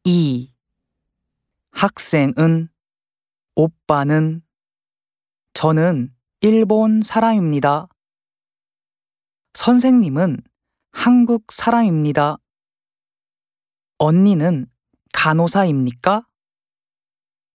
2. 학생은, 오빠는, 저는 일본 사람입니다. 선생님은 한국 사람입니다. 언니는 간호사입니까?